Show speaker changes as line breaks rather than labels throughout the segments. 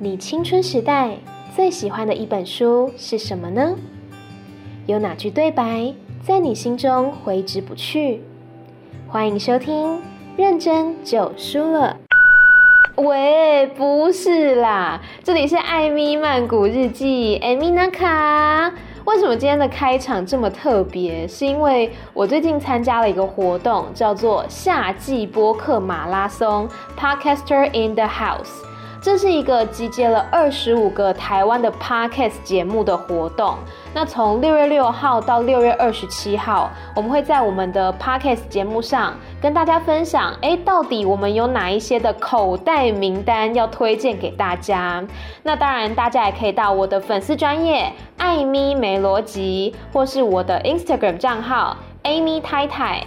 你青春時代最喜歡的一本書是什麼呢？有哪句對白在你心中揮之不去？歡迎收聽《認真就輸了》。喂，不是啦，這裡是艾咪曼谷日記，艾咪娜卡。為什麼今天的開場這麼特別？是因為我最近參加了一個活動，叫做夏季播客馬拉松 Podcaster in the House。這是一個集結了25個台灣的 Podcast 節目的活動。那從6月6號到6月27號，我們會在我們的 Podcast 節目上跟大家分享，到底我們有哪一些的口袋名單要推薦給大家。那當然，大家也可以到我的粉絲專頁艾咪沒邏輯，或是我的 Instagram 賬號 Amy 太太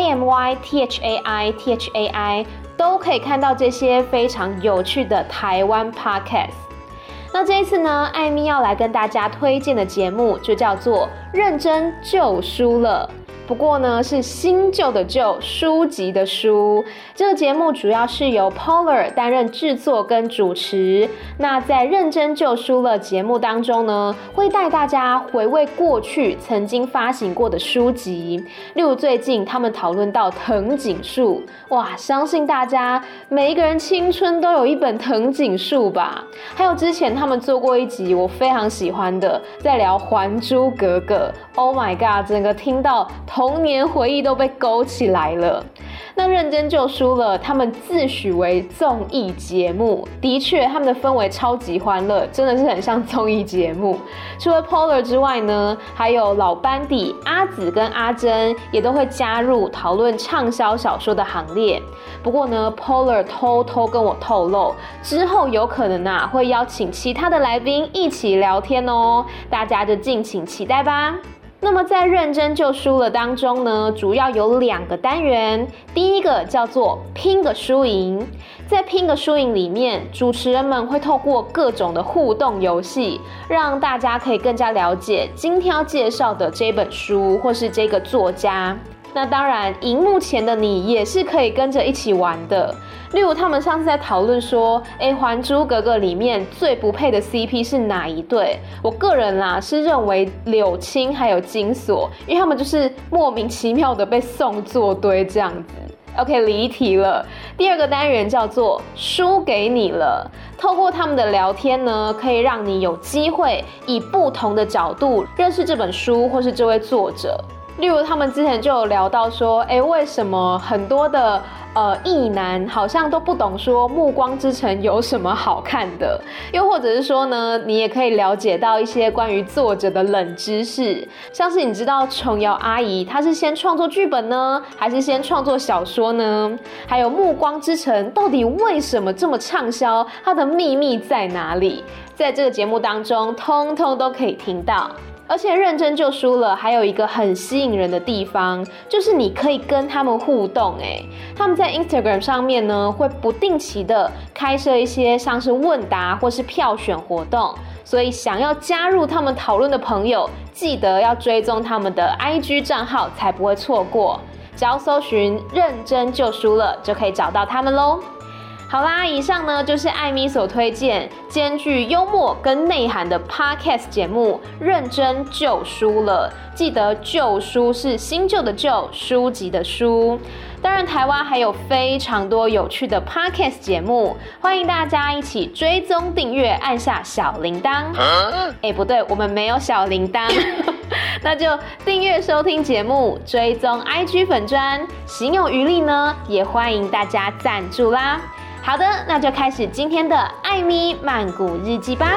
AMYTHAI，都可以看到這些非常有趣的台灣 Podcast。那這一次呢，艾咪要來跟大家推薦的節目就叫做《認真就輸了》。不過呢，是新舊的舊，書籍的書。這個節目主要是由 Polar 擔任製作跟主持。那在認真就輸了節目當中呢，會帶大家回味過去曾經發行過的書籍。例如最近他們討論到藤井樹，哇，相信大家每一個人青春都有一本藤井樹吧。還有之前他們做過一集我非常喜歡的，在聊《還珠格格》。Oh my god， 整個聽到童年回憶都被勾起來了。那認真就輸了，他們自詡為綜藝節目，的確他們的氛圍超級歡樂，真的是很像綜藝節目。除了 Polar 之外呢，還有老班底阿紫跟阿珍也都會加入討論暢銷小說的行列。不過呢， Polar 偷偷跟我透露，之後有可能會邀請其他的來賓一起聊天哦，大家就敬請期待吧。那麼在認真就輸了當中呢，主要有2個單元。第一個叫做拼個輸贏，在拼個輸贏裡面，主持人們會透過各種的互動遊戲，讓大家可以更加了解今天要介紹的這本書或是這個作家。那當然，熒幕前的你也是可以跟着一起玩的。例如，他們上次在討論說，《還珠格格》裡面最不配的 CP 是哪一對？我個人啦是認為柳青還有金鎖，因為他們就是莫名其妙的被送作堆這樣子。OK， 離題了。第2個單元叫做輸給你了。透過他們的聊天呢，可以讓你有機會以不同的角度認識這本書或是這位作者。例如他們之前就有聊到說，為什麼很多的異男好像都不懂說《暮光之城》有什麼好看的，又或者是說呢，你也可以了解到一些關於作者的冷知識，像是你知道瓊瑤阿姨她是先創作劇本呢，還是先創作小說呢？還有《暮光之城》到底為什麼這麼暢銷，它的秘密在哪裡？在這個節目當中，通通都可以聽到。而且認真就輸了，還有一個很吸引人的地方，就是你可以跟他們互動。他們在 Instagram 上面呢，會不定期的開設一些像是問答或是票選活動，所以想要加入他們討論的朋友，記得要追蹤他們的 IG 賬號，才不會錯過。只要搜尋認真就輸了，就可以找到他們咯。好啦，以上呢就是艾咪所推薦兼具幽默跟內涵的 Podcast 節目《認真就輸了》。記得就輸是新舊的舊，書籍的書。當然，台灣還有非常多有趣的 Podcast 節目，歡迎大家一起追蹤訂閱，按下小鈴鐺。不對，我們沒有小鈴鐺，那就訂閱收聽節目，追蹤 IG 粉專，行有餘力呢，也歡迎大家贊助啦。好的，那就開始今天的艾咪曼谷日記吧。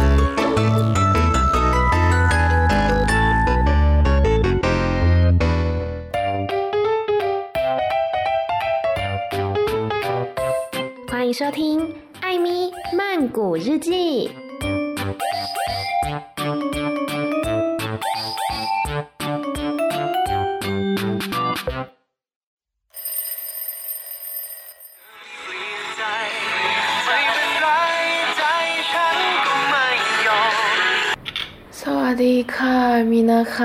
歡迎收聽艾咪曼谷日記。
薩瓦迪卡，米娜卡，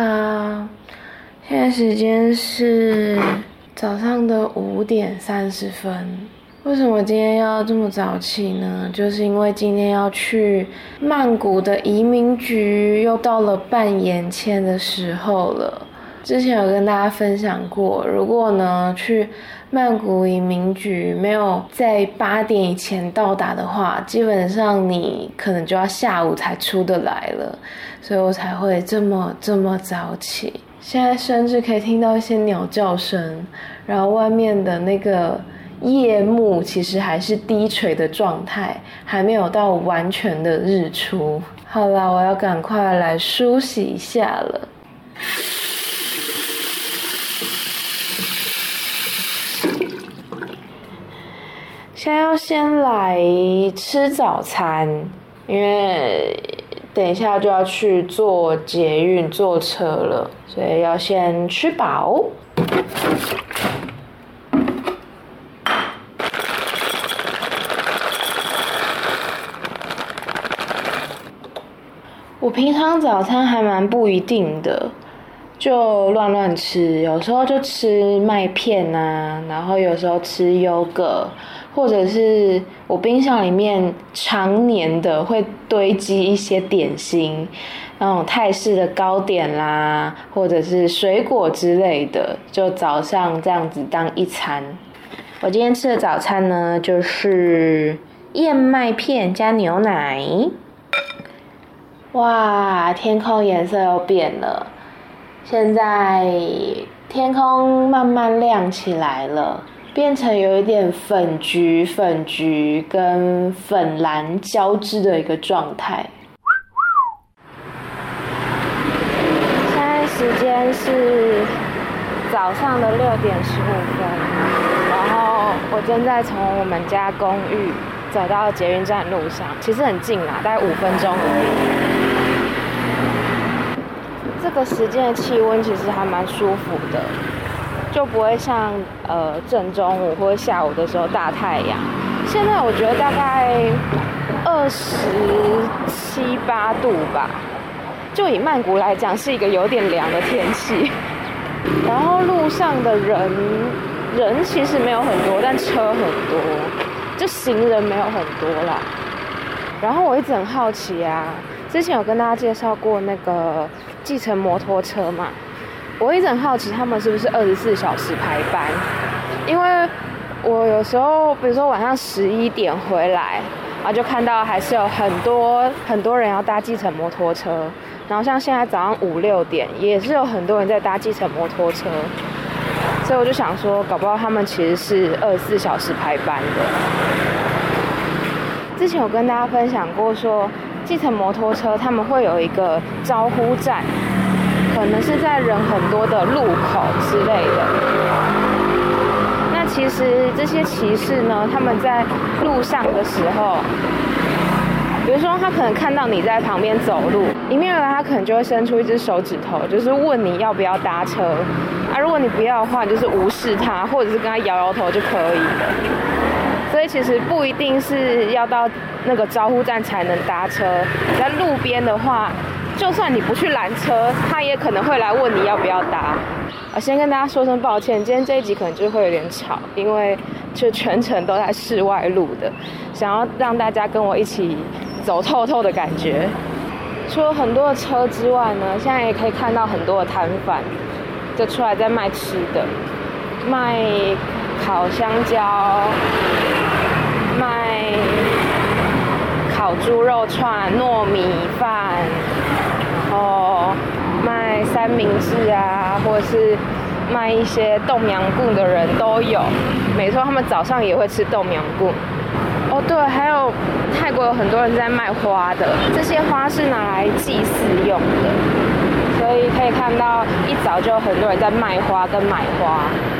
現在時間是早上的5:30。 為什麼今天要這麼早起呢？就是因為今天要去曼谷的移民局，又到了辦延簽的時候了。之前有跟大家分享過，如果呢去曼谷移民局沒有在8點以前到達的話，基本上你可能就要下午才出得來了，所以我才會這麼早起。現在甚至可以聽到一些鳥叫聲，然後外面的那個夜幕其實還是低垂的狀態，還沒有到完全的日出。好啦，我要趕快來梳洗一下了。現在要先來吃早餐，因為等一下就要去坐捷運坐車了，所以要先吃飽。我平常早餐還蠻不一定的，就亂吃，有時候就吃麥片啊，然後有時候吃優格，或者是我冰箱裡面常年的會堆積一些點心，那種泰式的糕點啦，或者是水果之類的，就早上這樣子當一餐。我今天吃的早餐呢，就是燕麥片加牛奶。哇，天空顏色又變了，現在天空慢慢亮起來了，變成有一點粉橘跟粉藍交織的一個狀態。現在時間是早上的6點15分，然後我正在從我們家公寓走到捷運站路上，其實很近啦，大概5分鐘而已。這個時間的氣溫其實還蠻舒服的，就不會像正中午或者下午的時候大太陽。現在我覺得大概27、8度吧，就以曼谷來講是一個有點涼的天氣。然後路上的人其實沒有很多，但車很多，就行人沒有很多啦。然後我一直很好奇啊，之前有跟大家介紹過那個計程摩托車嘛，我一直很好奇他們是不是24小時排班，因為我有時候比如說晚上11點回來，然後就看到還是有很多人要搭計程摩托車，然後像現在早上5、6點也是有很多人在搭計程摩托車，所以我就想說搞不好他們其實是24小时排班的。之前有跟大家分享過說計程摩托車他們會有一個招呼站，可能是在人很多的路口之類的。那其實這些騎士呢，他們在路上的時候，比如說他可能看到你在旁邊走路，迎面而來他可能就会伸出一隻手指頭，就是問你要不要搭車啊。如果你不要的話，你就是無視他，或者是跟他摇摇頭就可以了。所以其實不一定是要到那個招呼站才能搭車，你在路邊的話，就算你不去攔車，他也可能會來問你要不要搭。先跟大家說聲抱歉，今天這一集可能就會有點吵，因為就全程都在室外錄的，想要讓大家跟我一起走透透的感覺。除了很多的車之外呢，現在也可以看到很多的攤販，就出來在賣吃的，賣烤香蕉，賣烤豬肉串、糯米飯，然後賣三明治啊，或者是賣一些豆苗棍的人都有。沒錯，他們早上也會吃豆苗棍。哦，對，還有泰國有很多人在賣花的，這些花是拿來祭祀用的，所以可以看到一早就有很多人在賣花跟買花。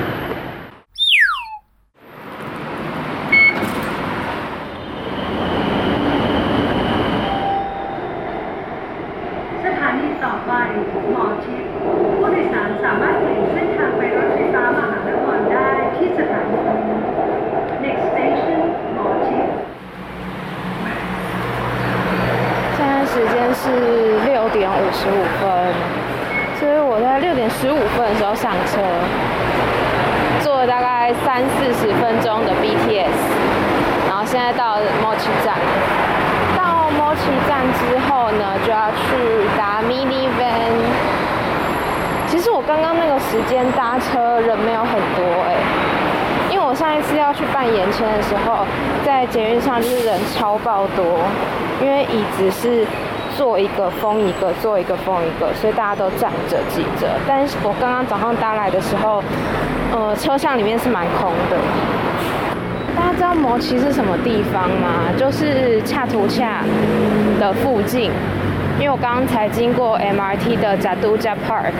时間是6點55分，所以我在6點15分的時候上車。 坐了大概30-40分鐘的 BTS， 然後現在到mochi站。到mochi站之後呢，就要去搭 mini van。其實我剛剛那個時間搭車人沒有很多因為我上一次要去辦延簽的時候，在捷運上就是人超爆多，因為椅子是坐一個封一個，坐一個封一個，所以大家都站着擠着。但是我剛剛早上搭來的時候，車廂裡面是蠻空的。大家知道摩奇是什麼地方嗎？就是恰圖恰的附近，因為我剛剛才經過 MRT 的Chatuchak Park。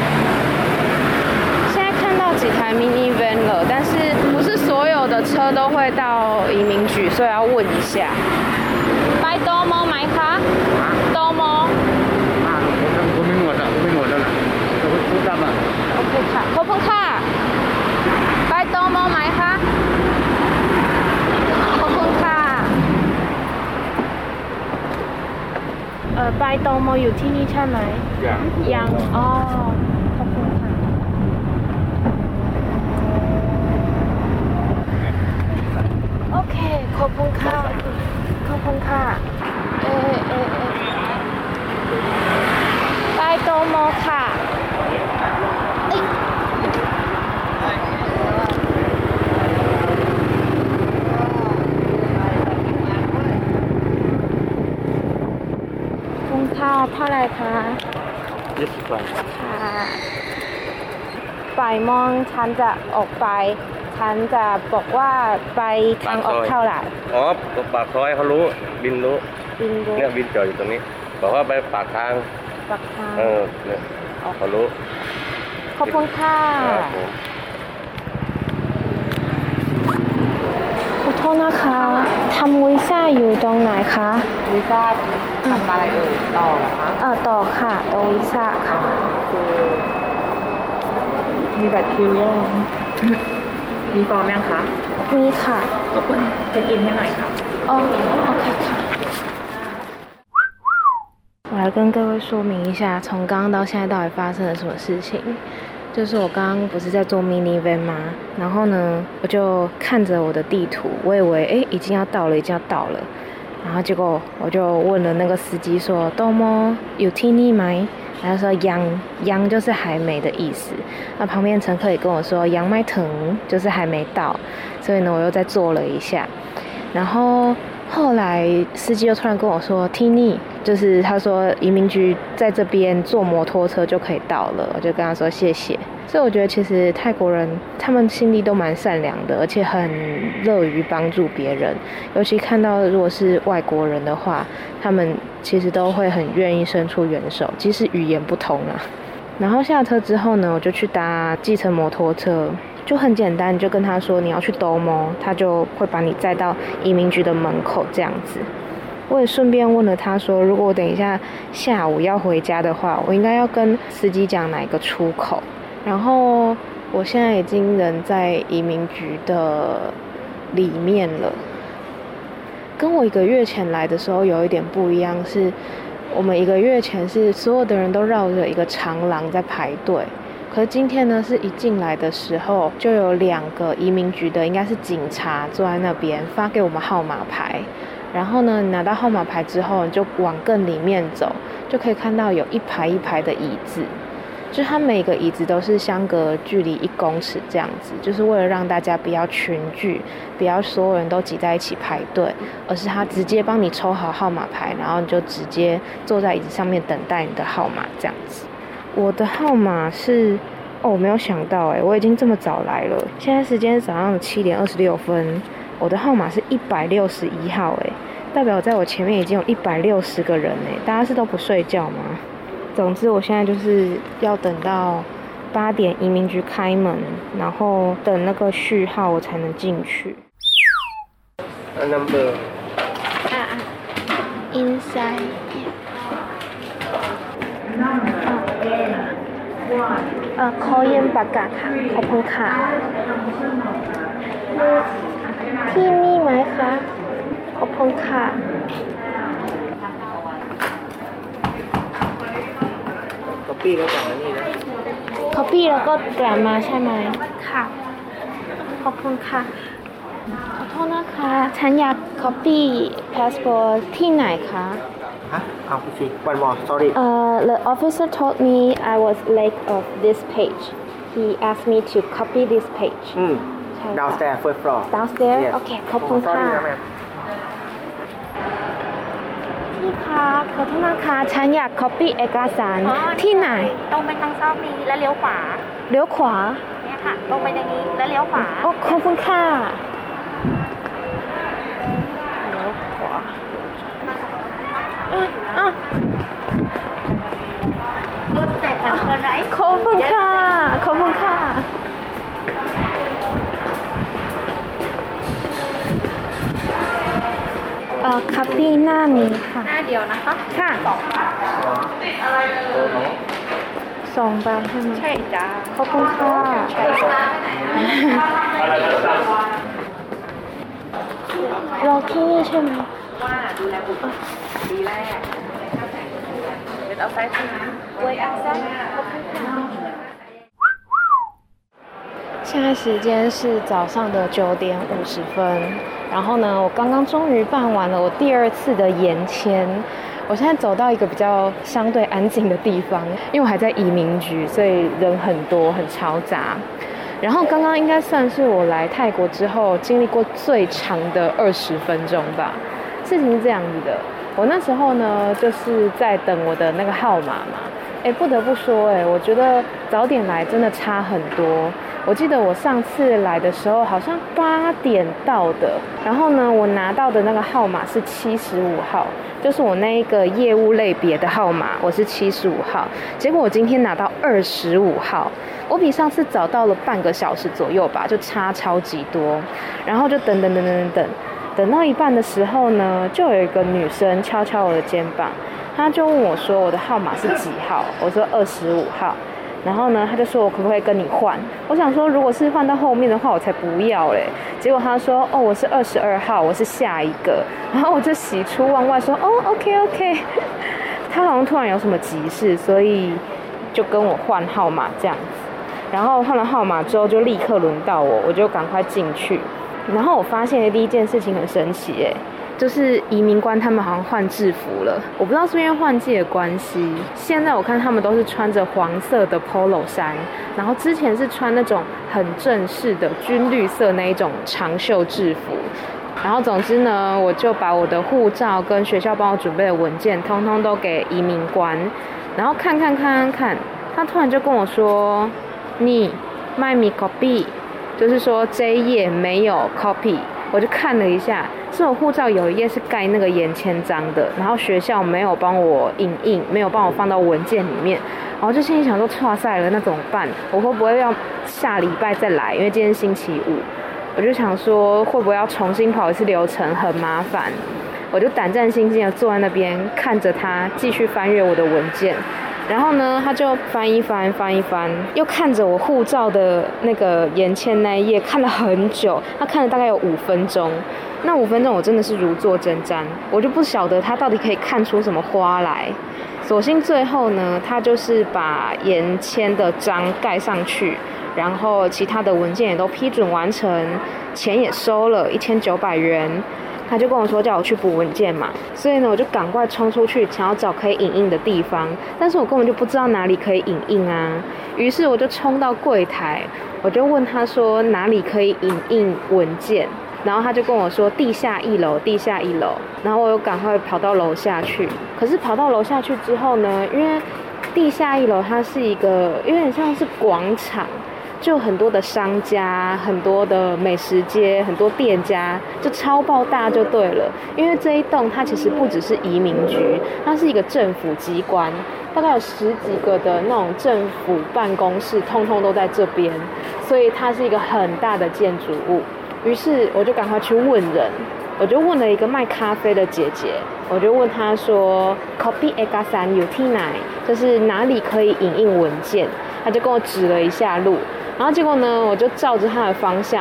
現在看到幾台 mini van 了，但是不是所有的車都會到移民局，所以要問一下。拜多摩買卡？多摩？
我沒摸到了，都大吧。
OK 卡，可不卡？拜多摩買卡？拜多摩อยู่ที่นี่ใช่ไหมยังอ๋อขอบคุณค่ะโอเคขอบคุณค่ะขอบคุณค่ะ拜多摩ค่ะค่ะเท่าไหร่คะ
20 บาท
ค่ะบ่ายโมงฉันจะออกไปฉันจะบอกว่าไปทางออกเท่าไหร่
อ๋อปากซอยเขารู้บินรู้เนี่ยบินจอดอยู่ตรงนี้บอกว่าไปปากทางเนี่ยเขารู้
ขอบคุณค่ะขอโทษนะคะทำวีซ่าอยู่ตรงไหนคะ
วีซ่าทำอะไรต่อเหรอคะ
ต่อค่ะตรงวีซ่าค่ะ
มีบัตรคิวยังมีฟอร์มยังคะ
มีค่ะ
ขอบคุณเช็คอินให้หน่อยค่ะ
โอเคค่ะ我来跟各位说明一下，从刚刚到现在到底发生了什麼事情。就是我剛剛不是在坐 mini van 嗎？然後呢，我就看着我的地圖，我以為已經要到了，然後結果我就問了那個司機說：“どうも有ที่นี่嗎？”然後說ยัง就是還沒的意思。那旁邊乘客也跟我說ยังไม่ถึง就是還沒到，所以呢我又再坐了一下，然後後來司機又突然跟我說ที่นี่就是他說移民局在這邊坐摩托車就可以到了，我就跟他說謝謝。所以我覺得其實泰國人他們心地都蠻善良的，而且很樂於幫助別人，尤其看到如果是外國人的話，他們其實都會很願意伸出援手，即使語言不通啊。然後下車之後呢，我就去搭計程摩托車，就很簡單，就跟他說你要去兜摩，他就會把你載到移民局的門口這樣子。我也順便問了他說，如果我等一下下午要回家的話，我應該要跟司機講哪一個出口。然後我現在已經人在移民局的裡面了，跟我1個月前來的時候有一點不一樣，是我們1個月前是所有的人都繞着一個長廊在排隊，可是今天呢，是一進來的時候就有2個移民局的應該是警察坐在那邊發給我們號碼牌，然後呢，你拿到號碼牌之後你就往更裡面走，就可以看到有一排一排的椅子，就是它每個椅子都是相隔距離1公尺這樣子，就是為了讓大家不要群聚，不要所有人都擠在一起排隊，而是他直接幫你抽好號碼牌，然後你就直接坐在椅子上面等待你的號碼這樣子。我的號碼是我沒有想到我已經這麼早來了，現在時間是早上的7點26分，我的號碼是161號代表在我前面已經有160個人大家是都不睡覺嗎？總之我現在就是要等到8點移民局開門，然後等那個序號我才能進去。
number
inside ขอยืมปากกาค่ะขอบคุณค่ะที่นี่ไหมคะขอบคุณค่ะ
copy แล้วจากนี่นะ
copy แล้วก็แกรมมาใช่ไหมค่ะ
ขอบคุณค่ะขอโทษนะคะฉันอยาก copy passport ที่ไหนคะ
Huh? Oh, see. One more. Sorry.
The officer told me I was late of this page. He asked me to copy this page.
Downstairs, first floor.
Downstairs?
Yes.
โอเคขอบคุณค่ะ
Sorry, ma'am.
พี่คะขอโทษนะคะฉันอยาก copy เอกสารที่ไหน
ตรงไปทางซอกนี้แล้วเลี้ยวขวา
เลี้ยวขวา
เนี่ยค่ะ ตรงไปอย่างนี้แล้วเลี้ยวขวา
โอ้ขอบคุณค่ะเลี้ยวขวาอ่ะ
รถแต่กันคนไหน
ขอบคุณค่ะ ขอบคุณค่ะ คัปปี้หน้านี้ค่ะ
หน้าเดียวนะคะ
ค่ะสองใบใช่ไหม
ใช่จ้า
ขอบคุณค่ะรอที่นี่ใช่ไหม
ว่าดูแลบุตรดีแรกเป็นเอาไซส์ที่ไว้เอาไซส์
现在时间是早上的9:50，然后呢，我刚刚终于办完了我第2次的延簽。我现在走到一個比較相對安靜的地方，因為我還在移民局，所以人很多，很嘈雜。然後剛剛應該算是我來泰國之後經歷過最長的20分鐘吧。事情是這樣子的，我那時候呢就是在等我的那個號碼嘛。不得不說，我覺得早點來真的差很多。我記得我上次來的時候好像8點到的，然後呢，我拿到的那個號碼是75號，就是我那一個業務類別的號碼，我是75號。結果我今天拿到25號，我比上次早到了半個小時左右吧，就差超級多。然後就等到一半的時候呢，就有一個女生敲敲我的肩膀，她就問我說我的號碼是幾號，我說25號。然後呢，他就說我可不可以跟你換？我想說，如果是換到後面的話，我才不要嘞。結果他說，哦，我是22號，我是下一個。然後我就喜出望外說，哦 ，OK。他好像突然有什麼急事，所以就跟我換號碼這樣子。然後換了號碼之後，就立刻輪到我，我就趕快進去。然後我發現的第一件事情很神奇，就是移民官他們好像換制服了，我不知道是因為換季的關係。現在我看他們都是穿着黃色的 polo 衫，然後之前是穿那種很正式的軍綠色那一種長袖制服。然後總之呢，我就把我的護照跟學校幫我準備的文件通通都給移民官，然後看，他突然就跟我說，你賣米 copy， 就是說這一頁沒有 copy。我就看了一下，是我護照有一頁是蓋那個延簽章的，然後學校沒有幫我影印，沒有幫我放到文件裡面，然後就心裡想說，剉賽了，那怎麼辦？我會不會要下禮拜再來？因為今天星期五，我就想說會不會要重新跑一次流程，很麻煩。我就膽戰心驚的坐在那邊，看着他繼續翻閱我的文件。然後呢，他就翻一翻，又看着我護照的那個延簽那一頁，看了很久。他看了大概有5分鐘，那5分鐘我真的是如坐針氈，我就不曉得他到底可以看出什麼花來。所幸最後呢，他就是把延簽的章蓋上去，然後其他的文件也都批准完成，錢也收了1900元。他就跟我說叫我去補文件嘛，所以呢我就趕快衝出去想要找可以影印的地方，但是我根本就不知道哪裡可以影印啊。於是我就衝到櫃檯，我就問他說哪裡可以影印文件，然後他就跟我說地下1樓，然後我又趕快跑到樓下去。可是跑到樓下去之後呢，因為地下1樓它是一個有點像是廣場，就很多的商家，很多的美食街，很多店家，就超爆大就對了。因為這一棟它其實不只是移民局，它是一個政府機關，大概有10幾個的那種政府辦公室，通通都在這邊，所以它是一個很大的建築物。於是我就趕快去問人，我就問了一個賣咖啡的姐姐，我就問她說 copy ekasan yuti nai， 就是哪裡可以影印文件，她就跟我指了一下路。然後結果呢，我就照着他的方向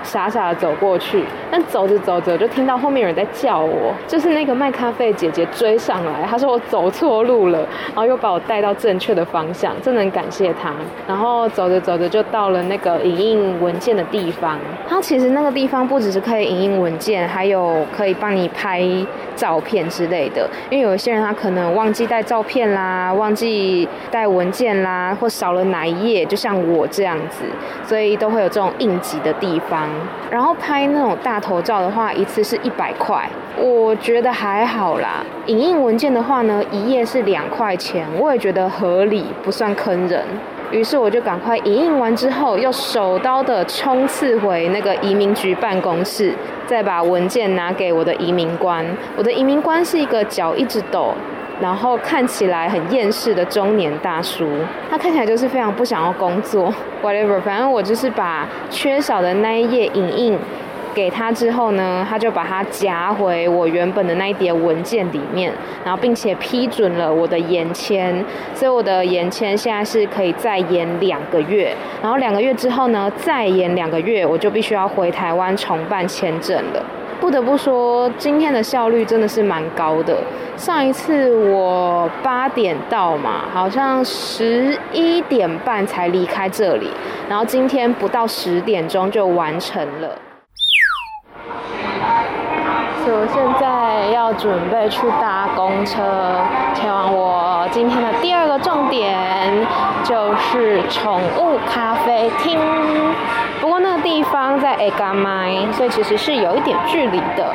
傻傻的走過去，但走着走着就聽到後面有人在叫我，就是那個賣咖啡的姐姐追上來，她說我走錯路了，然後又把我帶到正確的方向，真的很感謝她。然後走着走着就到了那個影印文件的地方，它其實那個地方不只是可以影印文件，還有可以幫你拍照片之類的，因为有一些人他可能忘記帶照片啦，忘記帶文件啦，或少了哪一頁，就像我這樣子，所以都會有這種應急的地方。然後拍那種大頭照的話，一次是100塊，我覺得還好啦。影印文件的話呢，一頁是2塊錢，我也覺得合理，不算坑人。於是我就趕快影印完之後，又手刀的衝刺回那個移民局辦公室，再把文件拿給我的移民官。我的移民官是一個腳一直抖，然後看起來很厭世的中年大叔，他看起來就是非常不想要工作 whatever， 反正我就是把缺少的那一頁影印給他之後呢，他就把它夾回我原本的那一疊文件裡面，然後并且批准了我的延簽，所以我的延簽現在是可以再延2個月，然後2個月之後呢，再延2個月，我就必須要回台灣重辦簽證了。不得不說，今天的效率真的是蠻高的。上一次我8點到嘛，好像11點半才離開這裡，然後今天不到10點鐘就完成了。所以我現在要準備去搭公車，前往我今天的第2個重點，就是寵物咖啡廳。不過那個地方在下苫，所以其實是有一點距離的。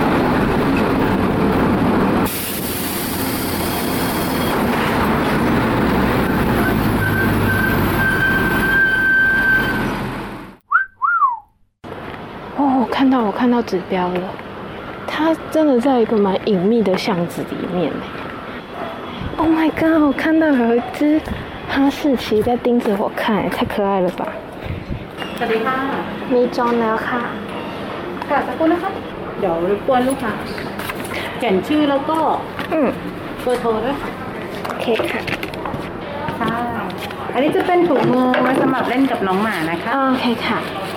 哦，我看到指標了。它真的在一個蠻隱秘的巷子裡面。Oh my god！ 我看到有一隻哈士奇在盯着我看，太可愛了吧！
สวัสดีค่ะ
มีจองแล้วค่ะ
ค่ะสักครู่นะคะเดี๋ยวรบกวนลูกค้าเขียนชื่อแล้วก็เบอร์โทรด้วยค่ะ
โอเคค่ะ
ค่ะอันนี้จะเป็นถุงมือไว้สำหรับเล่นกับน้องหมานะคะ
โอเคค่ะ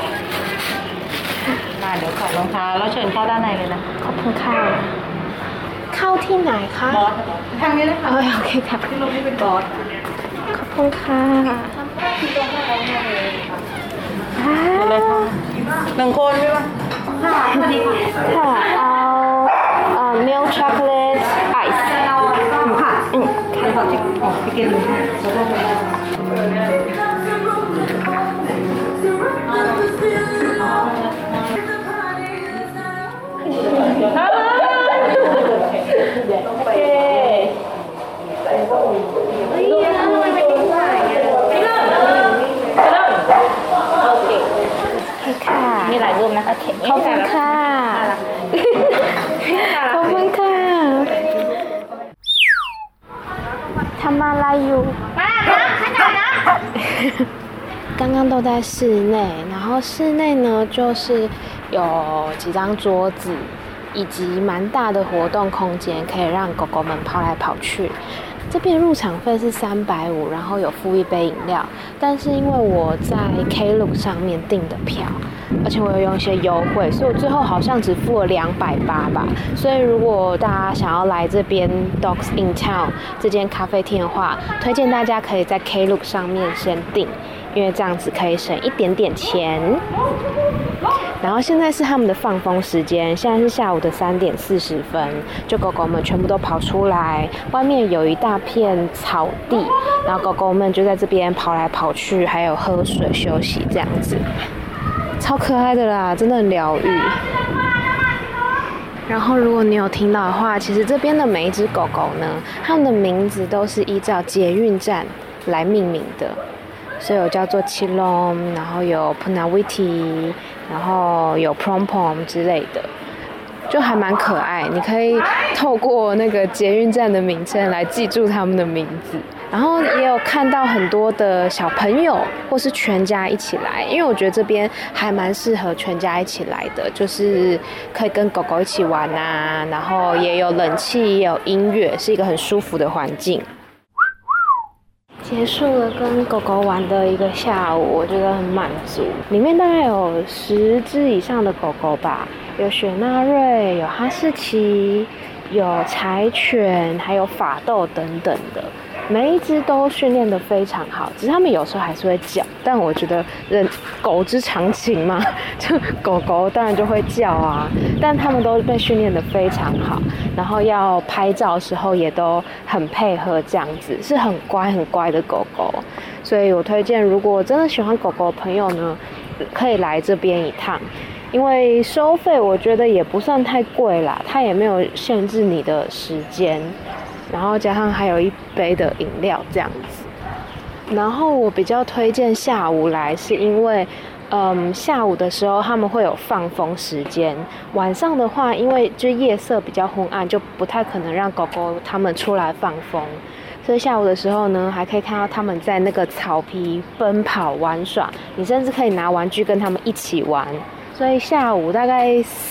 เดี๋ยวขอรองเท้าแล้วเชิญเข้าด้านในเลยนะ
ขอบคุณค่ะเข้าที่ไหนคะ
บอสทางนี้เลยค่ะ
โอเคค่ะ
ที่ลงที่เป็นบอส
ขอบคุณค่ะ
ที่ตรงข้างในเลยค่ะเลยค่ะ1 คนใช่ปะค่ะสวัสดี
ค่ะเอาmilk chocolate ice
ค่ะค่ะขอจิ๊กไปกินเลย
มีหลายรูปนะคะขอบคุณค่ะขอบคุณค่ะทำอะไรอยู่刚刚都在室內，然後室內呢就是有幾張桌子以及蠻大的活動空間，可以讓狗狗們跑來跑去。這邊入場費是350，然後有附1杯飲料，但是因為我在 Klook 上面訂的票，而且我有用一些優惠，所以我最後好像只付了280吧。所以如果大家想要來這邊 Dogs in Town 這間咖啡廳的話，推薦大家可以在 Klook 上面先訂，因為這樣子可以省一點點錢。然後現在是他們的放風時間，現在是下午的3點40分，就狗狗們全部都跑出來，外面有一大片草地，然後狗狗們就在這邊跑來跑去，還有喝水休息這樣子，超可愛的啦，真的很療癒。然後如果你有聽到的話，其實這邊的每一隻狗狗呢，它們的名字都是依照捷運站來命名的。所以有叫做 Chilom， 然後有 Punawiti， 然後有 Prompom 之類的，就還蠻可愛。你可以透過那個捷運站的名稱來記住他們的名字。然後也有看到很多的小朋友或是全家一起來，因為我覺得這邊還蠻適合全家一起來的，就是可以跟狗狗一起玩啊，然後也有冷氣，也有音樂，是一個很舒服的環境。 結束了跟狗狗玩的一個下午，我覺得很滿足。裡面大概有10隻以上的狗狗吧，有雪納瑞，有哈士奇，有柴犬，還有法鬥等等的。每一隻都訓練得非常好，只是他們有時候還是會叫，但我覺得狗之常情嘛，就狗狗當然就會叫啊，但他們都被訓練得非常好，然後要拍照的時候也都很配合，這樣子是很乖很乖的狗狗，所以我推薦如果真的喜歡狗狗的朋友呢，可以來這邊一趟。因為收費我覺得也不算太貴啦，它也沒有限制你的時間，然後加上還有一杯的飲料這樣子。然後我比較推薦下午來，是因為下午的時候他們會有放風時間，晚上的話因為就夜色比較昏暗，就不太可能讓狗狗他們出来放風，所以下午的时候呢，还可以看到他们在那个草皮奔跑玩耍，你甚至可以拿玩具跟他们一起玩。所以下午大概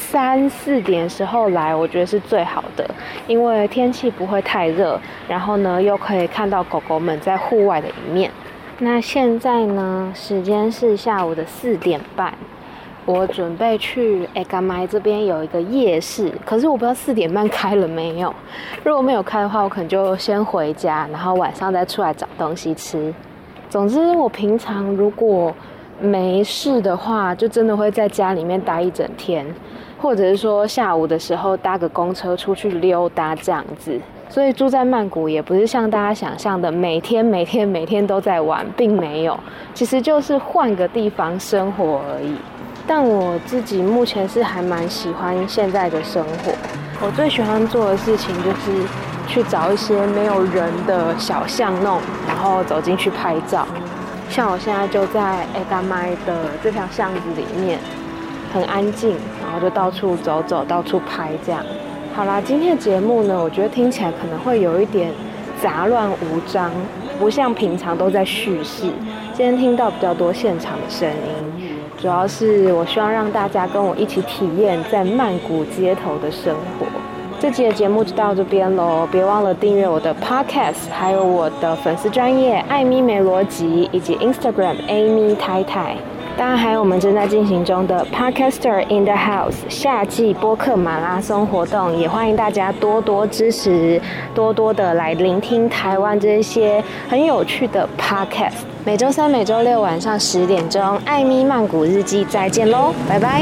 3、4點的時候來，我覺得是最好的，因為天氣不會太熱，然後呢又可以看到狗狗們在戶外的一面。那現在呢，時間是下午的4點半，我準備去嘎麥這邊有一個夜市，可是我不知道4點半開了沒有。如果沒有開的話，我可能就先回家，然後晚上再出來找東西吃。總之，我平常如果沒事的話，就真的會在家裡面待一整天，或者是說下午的時候搭個公車出去溜達這樣子。所以住在曼谷也不是像大家想象的每天都在玩，並沒有，其實就是換個地方生活而已。但我自己目前是還蠻喜歡現在的生活。我最喜歡做的事情就是去找一些沒有人的小巷弄，然後走進去拍照。像我現在就在嘎麥的這條巷子裡面，很安靜，然後就到處走走，到處拍這樣。好啦，今天的節目呢，我覺得聽起來可能會有一點雜亂無章，不像平常都在敘事。今天聽到比較多現場的聲音，主要是我希望讓大家跟我一起體驗在曼谷街頭的生活。這集的節目就到這邊咯，別忘了訂閱我的 podcast， 還有我的粉絲專頁艾咪沒邏輯，以及 Instagram Amy 太太。當然還有我們正在進行中的 Podcaster in the House 夏季播客馬拉松活動，也歡迎大家多多支持，多多的來聆聽台灣這些很有趣的 Podcast。每週3、每週6晚上10點鐘，艾咪曼谷日記再見嘍，拜拜。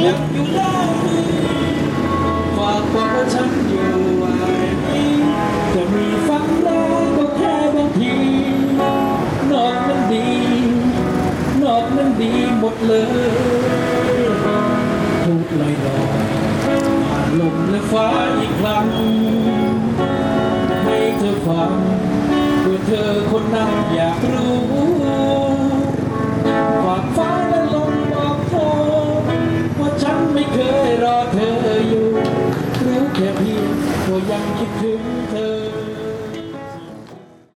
นอกนั้นดีหมดเลยพูดลอยๆผ่านลมและฟ้าอีกครั้งให้เธอฟังเพื่อเธอคนนั้นอยากรู้ฝากฟ้าและลมบอกเธอว่าฉันไม่เคยรอเธออยู่รู้แค่เพียงว่ายังคิดถึงเธอ